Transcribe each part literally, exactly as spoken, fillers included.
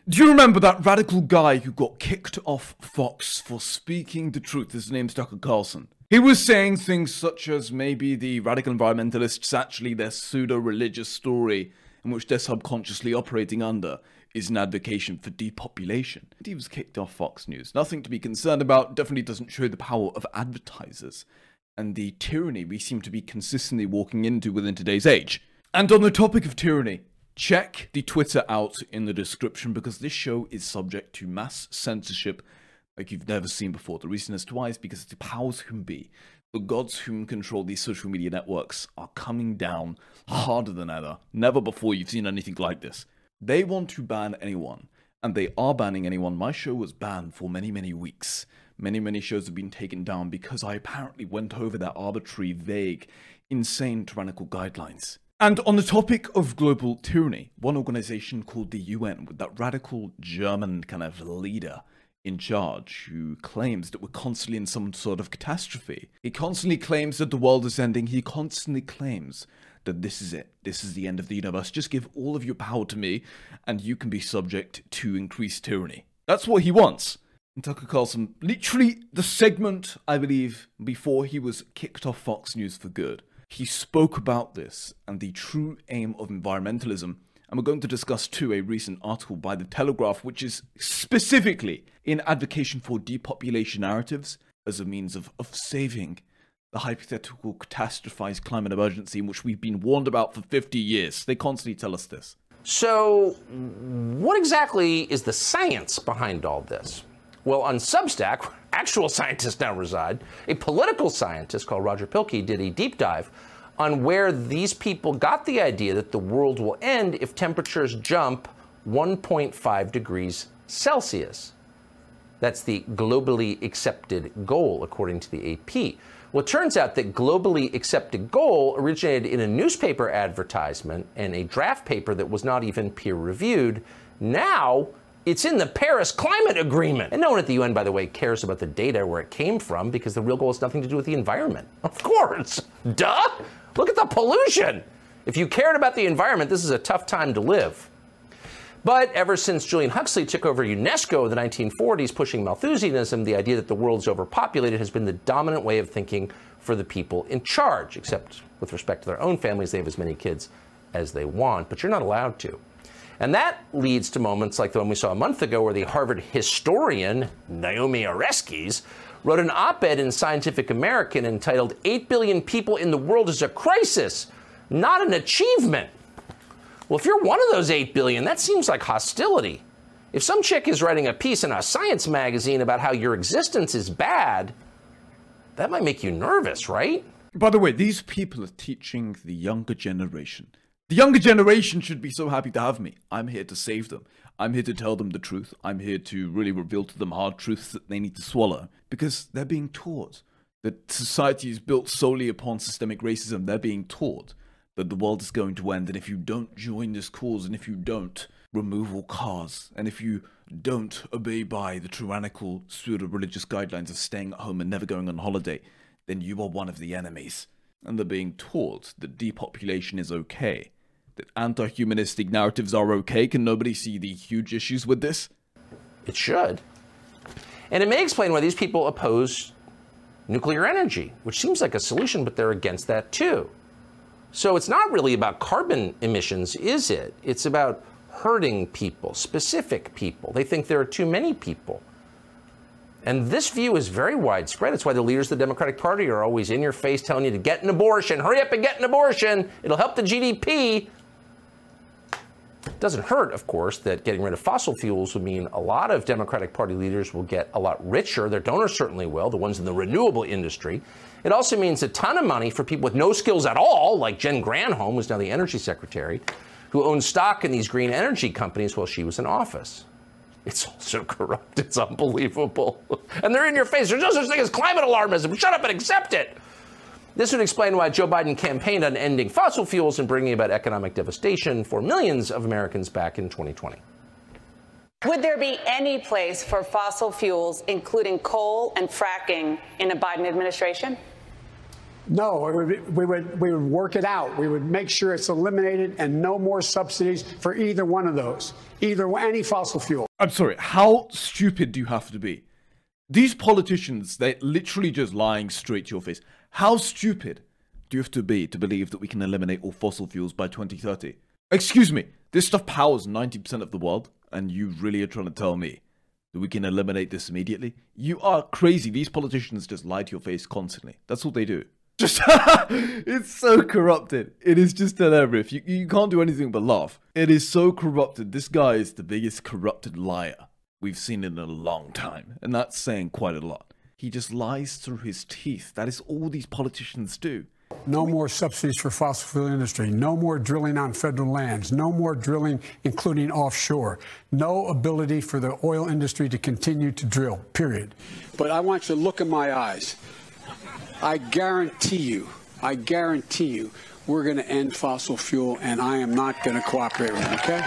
Do you remember that radical guy who got kicked off Fox for speaking the truth? His name's Tucker Carlson. He was saying things such as maybe the radical environmentalists, actually their pseudo-religious story in which they're subconsciously operating under is an advocation for depopulation. And he was kicked off Fox News. Nothing to be concerned about, definitely doesn't show the power of advertisers and the tyranny we seem to be consistently walking into within today's age. And on the topic of tyranny, check the Twitter out in the description because this show is subject to mass censorship like you've never seen before. The reason as to why is because the powers whom be, the gods whom control these social media networks are coming down harder than ever. Never before you've seen anything like this. They want to ban anyone, and they are banning anyone. My show was banned for many, many weeks. Many, many shows have been taken down because I apparently went over their arbitrary, vague, insane, tyrannical guidelines. And on the topic of global tyranny, one organization called the U N, with that radical German kind of leader in charge, who claims that we're constantly in some sort of catastrophe. He constantly claims that the world is ending. He constantly claims that this is it. This is the end of the universe. Just give all of your power to me, and you can be subject to increased tyranny. That's what he wants. And Tucker Carlson, literally the segment, I believe, before he was kicked off Fox News for good, he spoke about this and the true aim of environmentalism. And we're going to discuss, too, a recent article by The Telegraph, which is specifically in advocation for depopulation narratives as a means of, of saving the hypothetical catastrophized climate emergency in which we've been warned about for fifty years. They constantly tell us this. So what exactly is the science behind all this? Well, on Substack, where actual scientists now reside, a political scientist called Roger Pielke did a deep dive on where these people got the idea that the world will end if temperatures jump one point five degrees Celsius. That's the globally accepted goal, according to the A P. Well, it turns out that globally accepted goal originated in a newspaper advertisement and a draft paper that was not even peer-reviewed. Now, it's in the Paris Climate Agreement. And no one at the U N, by the way, cares about the data where it came from because the real goal has nothing to do with the environment. Of course. Duh! Look at the pollution. If you cared about the environment, this is a tough time to live. But ever since Julian Huxley took over UNESCO in the nineteen forties, pushing Malthusianism, the idea that the world's overpopulated has been the dominant way of thinking for the people in charge, except with respect to their own families, they have as many kids as they want, but you're not allowed to. And that leads to moments like the one we saw a month ago where the Harvard historian, Naomi Oreskes, wrote an op-ed in Scientific American entitled eight billion People in the World is a Crisis, Not an Achievement. Well, if you're one of those eight billion, that seems like hostility. If some chick is writing a piece in a science magazine about how your existence is bad, that might make you nervous, right? By the way, these people are teaching the younger generation. The younger generation should be so happy to have me. I'm here to save them. I'm here to tell them the truth. I'm here to really reveal to them hard truths that they need to swallow. Because they're being taught that society is built solely upon systemic racism. They're being taught that the world is going to end. And if you don't join this cause, and if you don't remove all cars, and if you don't obey by the tyrannical pseudo-religious guidelines of staying at home and never going on holiday, then you are one of the enemies. And they're being taught that depopulation is okay. That anti-humanistic narratives are okay. Can nobody see the huge issues with this? It should. And it may explain why these people oppose nuclear energy, which seems like a solution, but they're against that too. So it's not really about carbon emissions, is it? It's about hurting people, specific people. They think there are too many people. And this view is very widespread. It's why the leaders of the Democratic Party are always in your face telling you to get an abortion. Hurry up and get an abortion. It'll help the G D P. It doesn't hurt, of course, that getting rid of fossil fuels would mean a lot of Democratic Party leaders will get a lot richer. Their donors certainly will, the ones in the renewable industry. It also means a ton of money for people with no skills at all, like Jen Granholm, who's now the energy secretary, who owns stock in these green energy companies while she was in office. It's also corrupt. It's unbelievable. And they're in your face. There's no such thing as climate alarmism. Shut up and accept it. This would explain why Joe Biden campaigned on ending fossil fuels and bringing about economic devastation for millions of Americans back in twenty twenty. Would there be any place for fossil fuels, including coal and fracking, in a Biden administration? No, it would be, we would we would work it out. We would make sure it's eliminated and no more subsidies for either one of those, either any fossil fuel. I'm sorry, how stupid do you have to be? These politicians, they're literally just lying straight to your face. How stupid do you have to be to believe that we can eliminate all fossil fuels by twenty thirty? Excuse me, this stuff powers ninety percent of the world, and you really are trying to tell me that we can eliminate this immediately? You are crazy. These politicians just lie to your face constantly. That's all they do. Just, it's so corrupted. It is just hilarious. You, you can't do anything but laugh. It is so corrupted. This guy is the biggest corrupted liar we've seen in a long time. And that's saying quite a lot. He just lies through his teeth. That is all these politicians do. No more subsidies for fossil fuel industry. No more drilling on federal lands. No more drilling, including offshore. No ability for the oil industry to continue to drill, period. But I want you to look in my eyes. I guarantee you, I guarantee you, we're going to end fossil fuel, and I am not going to cooperate with it, okay?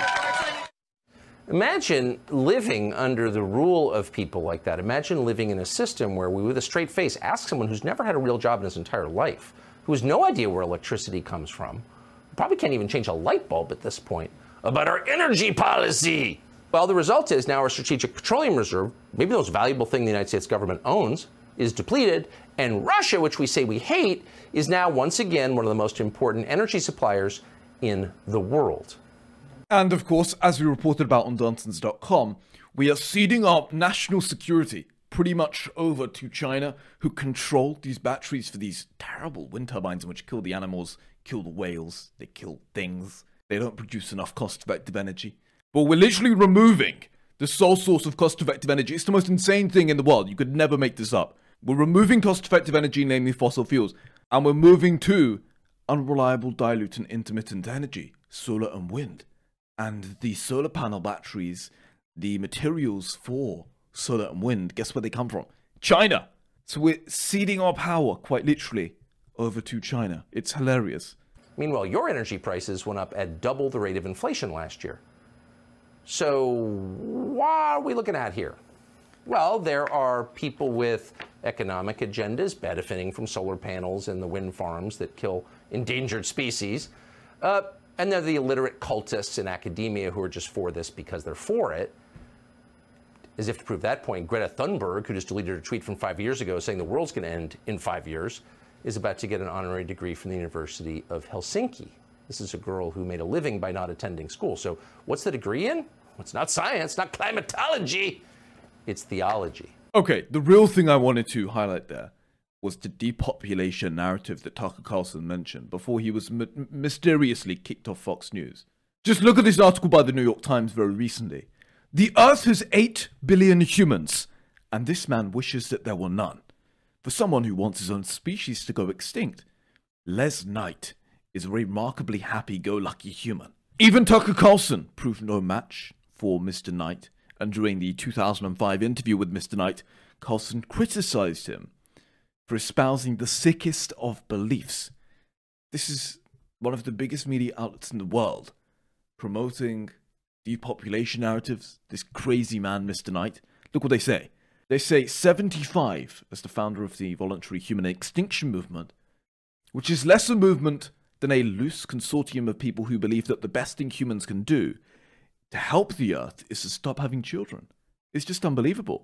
Imagine living under the rule of people like that. Imagine living in a system where we, with a straight face, ask someone who's never had a real job in his entire life, who has no idea where electricity comes from, probably can't even change a light bulb at this point, about our energy policy. Well, the result is now our strategic petroleum reserve, maybe the most valuable thing the United States government owns, is depleted, and Russia, which we say we hate, is now once again one of the most important energy suppliers in the world. And of course, as we reported about on Duntons dot com, we are ceding our national security pretty much over to China, who control these batteries for these terrible wind turbines which kill the animals, kill the whales, they kill things. They don't produce enough cost-effective energy. But we're literally removing the sole source of cost-effective energy. It's the most insane thing in the world. You could never make this up. We're removing cost-effective energy, namely fossil fuels, and we're moving to unreliable, dilute, and intermittent energy, solar and wind. And the solar panel batteries, the materials for solar and wind, guess where they come from? China! So we're ceding our power, quite literally, over to China. It's hilarious. Meanwhile, your energy prices went up at double the rate of inflation last year. So what are we looking at here? Well, there are people with economic agendas benefiting from solar panels and the wind farms that kill endangered species. Uh, and there are the illiterate cultists in academia who are just for this because they're for it. As if to prove that point, Greta Thunberg, who just deleted a tweet from five years ago saying the world's going to end in five years, is about to get an honorary degree from the University of Helsinki. This is a girl who made a living by not attending school. So what's the degree in? Well, it's not science, not climatology. It's theology. Okay, the real thing I wanted to highlight there was the depopulation narrative that Tucker Carlson mentioned before he was m mysteriously kicked off Fox News. Just look at this article by the New York Times very recently. The Earth has eight billion humans, and this man wishes that there were none. For someone who wants his own species to go extinct, Les Knight is a remarkably happy-go-lucky human. Even Tucker Carlson proved no match for Mister Knight, and during the two thousand five interview with Mister Knight, Carlson criticized him for espousing the sickest of beliefs. This is one of the biggest media outlets in the world, promoting depopulation narratives, this crazy man, Mister Knight. Look what they say. They say seventy-five as the founder of the voluntary human extinction movement, which is less a movement than a loose consortium of people who believe that the best thing humans can do to help the Earth is to stop having children. It's just unbelievable.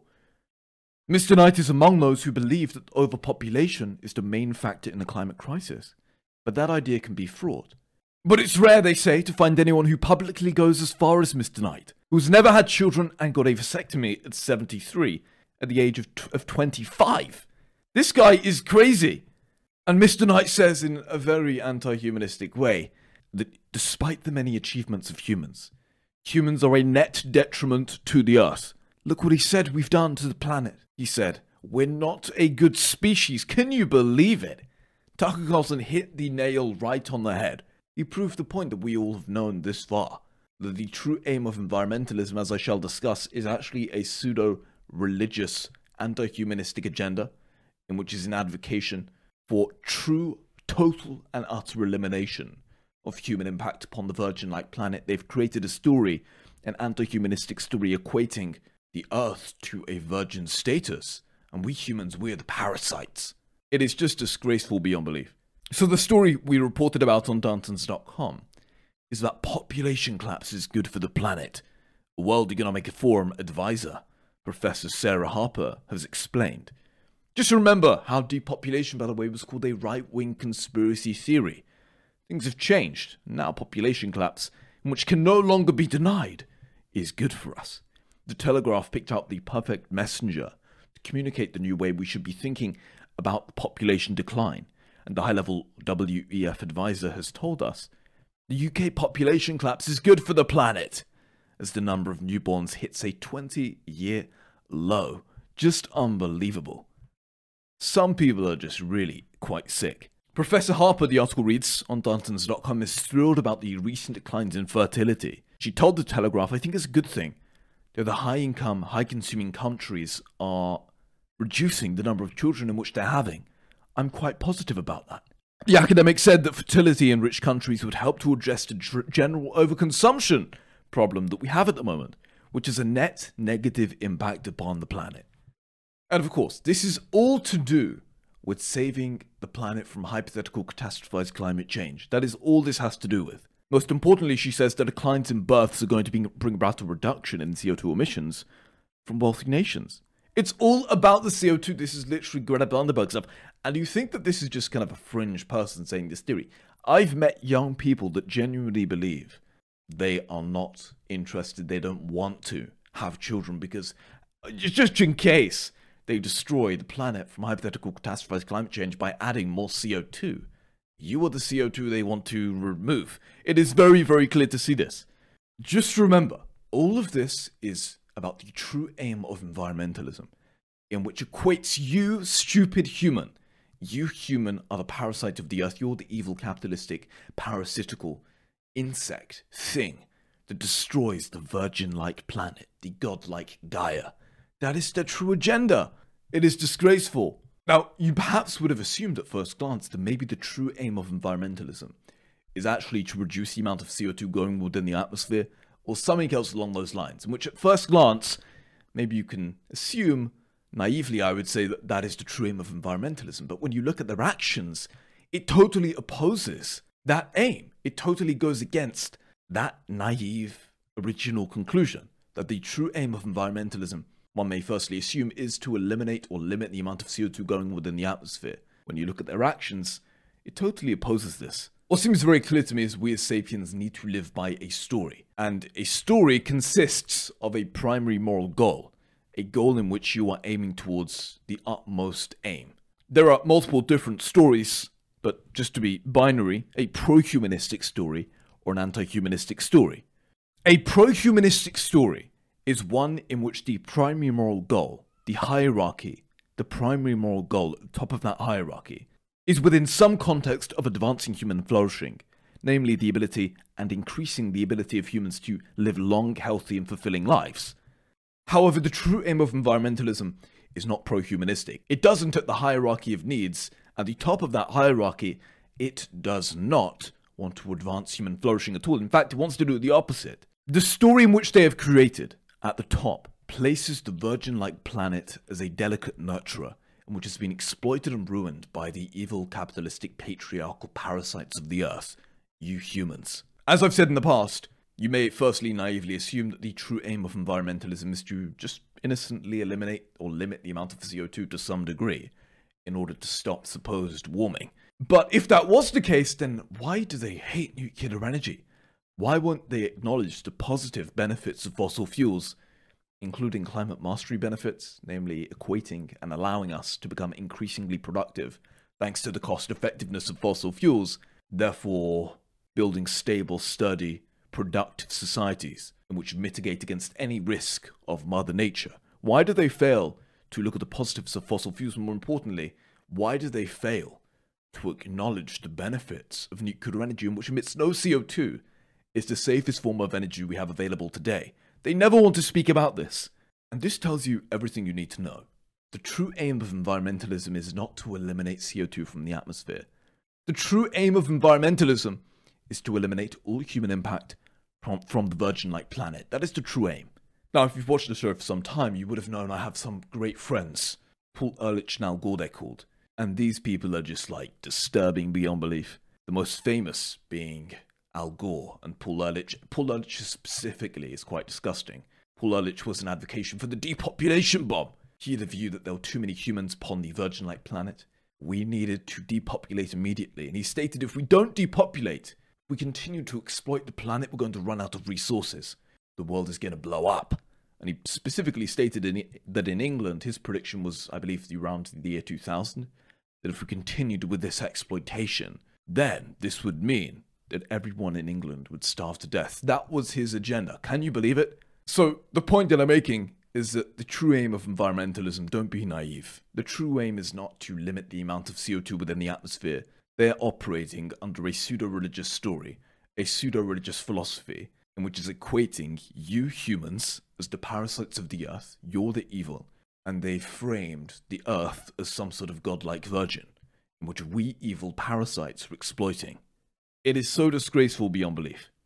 Mister Knight is among those who believe that overpopulation is the main factor in the climate crisis, but that idea can be fraught. But it's rare, they say, to find anyone who publicly goes as far as Mister Knight, who's never had children and got a vasectomy at seventy-three, at the age of, t of twenty-five. This guy is crazy. And Mister Knight says in a very anti-humanistic way that despite the many achievements of humans, humans are a net detriment to the Earth. Look what he said we've done to the planet. He said, we're not a good species. Can you believe it? Tucker Carlson hit the nail right on the head. He proved the point that we all have known this far. That the true aim of environmentalism, as I shall discuss, is actually a pseudo-religious, anti-humanistic agenda, in which is an advocation for true, total, and utter elimination of human impact upon the virgin-like planet. They've created a story, an anti-humanistic story, equating the Earth to a virgin status, and we humans, we're the parasites. It is just disgraceful beyond belief. So the story we reported about on Dantons dot com is that population collapse is good for the planet. A World Economic Forum advisor, Professor Sarah Harper, has explained. Just remember how depopulation, by the way, was called a right-wing conspiracy theory. Things have changed. Now population collapse, which can no longer be denied, is good for us. The Telegraph picked out the perfect messenger to communicate the new way we should be thinking about population decline, and the high-level W E F advisor has told us the U K population collapse is good for the planet, as the number of newborns hits a twenty-year low. Just unbelievable. Some people are just really quite sick. Professor Harper, the article reads on Dantons dot com, is thrilled about the recent declines in fertility. She told the Telegraph, I think it's a good thing that the high-income, high-consuming countries are reducing the number of children in which they're having. I'm quite positive about that. The academic said that fertility in rich countries would help to address the general overconsumption problem that we have at the moment, which is a net negative impact upon the planet. And of course, this is all to do with saving the planet from hypothetical catastrophized climate change. That is all this has to do with. Most importantly, she says that declines in births are going to be, bring about a reduction in C O two emissions from wealthy nations. It's all about the C O two. This is literally Greta Thunberg stuff. And you think that this is just kind of a fringe person saying this theory. I've met young people that genuinely believe they are not interested, they don't want to have children because, just in case, they destroy the planet from hypothetical catastrophized climate change by adding more C O two. You are the C O two they want to remove. It is very, very clear to see this. Just remember, all of this is about the true aim of environmentalism, in which equates you, stupid human. You, human, are the parasite of the earth. You're the evil, capitalistic, parasitical insect thing that destroys the virgin-like planet, the godlike Gaia. That is their true agenda. It is disgraceful. Now, you perhaps would have assumed at first glance that maybe the true aim of environmentalism is actually to reduce the amount of C O two going within the atmosphere, or something else along those lines, in which at first glance, maybe you can assume, naively I would say, that that is the true aim of environmentalism. But when you look at their actions, it totally opposes that aim. It totally goes against that naive original conclusion, that the true aim of environmentalism, one may firstly assume, is to eliminate or limit the amount of C O two going within the atmosphere. When you look at their actions, it totally opposes this. What seems very clear to me is we as sapiens need to live by a story. And a story consists of a primary moral goal, a goal in which you are aiming towards the utmost aim. There are multiple different stories, but just to be binary, a pro-humanistic story or an anti-humanistic story. A pro-humanistic story is one in which the primary moral goal, the hierarchy, the primary moral goal at the top of that hierarchy, is within some context of advancing human flourishing, namely the ability and increasing the ability of humans to live long, healthy and fulfilling lives. However, the true aim of environmentalism is not pro-humanistic. It doesn't, at the hierarchy of needs, at the top of that hierarchy, it does not want to advance human flourishing at all. In fact, it wants to do the opposite. The story in which they have created at the top places the virgin-like planet as a delicate nurturer, and which has been exploited and ruined by the evil, capitalistic, patriarchal parasites of the earth, you humans. As I've said in the past, you may firstly naively assume that the true aim of environmentalism is to just innocently eliminate or limit the amount of C O two to some degree in order to stop supposed warming. But if that was the case, then why do they hate nuclear energy? Why won't they acknowledge the positive benefits of fossil fuels, including climate mastery benefits, namely equating and allowing us to become increasingly productive thanks to the cost effectiveness of fossil fuels, therefore building stable, sturdy, productive societies in which mitigate against any risk of Mother Nature? Why do they fail to look at the positives of fossil fuels? And more importantly, why do they fail to acknowledge the benefits of nuclear energy, in which emits no C O two, is the safest form of energy we have available today? They never want to speak about this. And this tells you everything you need to know. The true aim of environmentalism is not to eliminate C O two from the atmosphere. The true aim of environmentalism is to eliminate all human impact from, from the virgin-like planet. That is the true aim. Now, if you've watched the show for some time, you would have known I have some great friends. Paul Ehrlich and Al Gore, they're called. And these people are just like disturbing beyond belief. The most famous being Al Gore and Paul Ehrlich. Paul Ehrlich specifically is quite disgusting. Paul Ehrlich was an advocacy for the depopulation bomb. He had the view that there were too many humans upon the virgin-like planet. We needed to depopulate immediately. And he stated if we don't depopulate, we continue to exploit the planet, we're going to run out of resources. The world is going to blow up. And he specifically stated in, that in England, his prediction was, I believe, around the year two thousand, that if we continued with this exploitation, then this would mean that everyone in England would starve to death. That was his agenda. Can you believe it? So the point that I'm making is that the true aim of environmentalism, don't be naive. The true aim is not to limit the amount of C O two within the atmosphere. They're operating under a pseudo-religious story, a pseudo-religious philosophy, in which is equating you humans as the parasites of the earth, you're the evil, and they framed the earth as some sort of godlike virgin, in which we evil parasites are exploiting. It is so disgraceful beyond belief.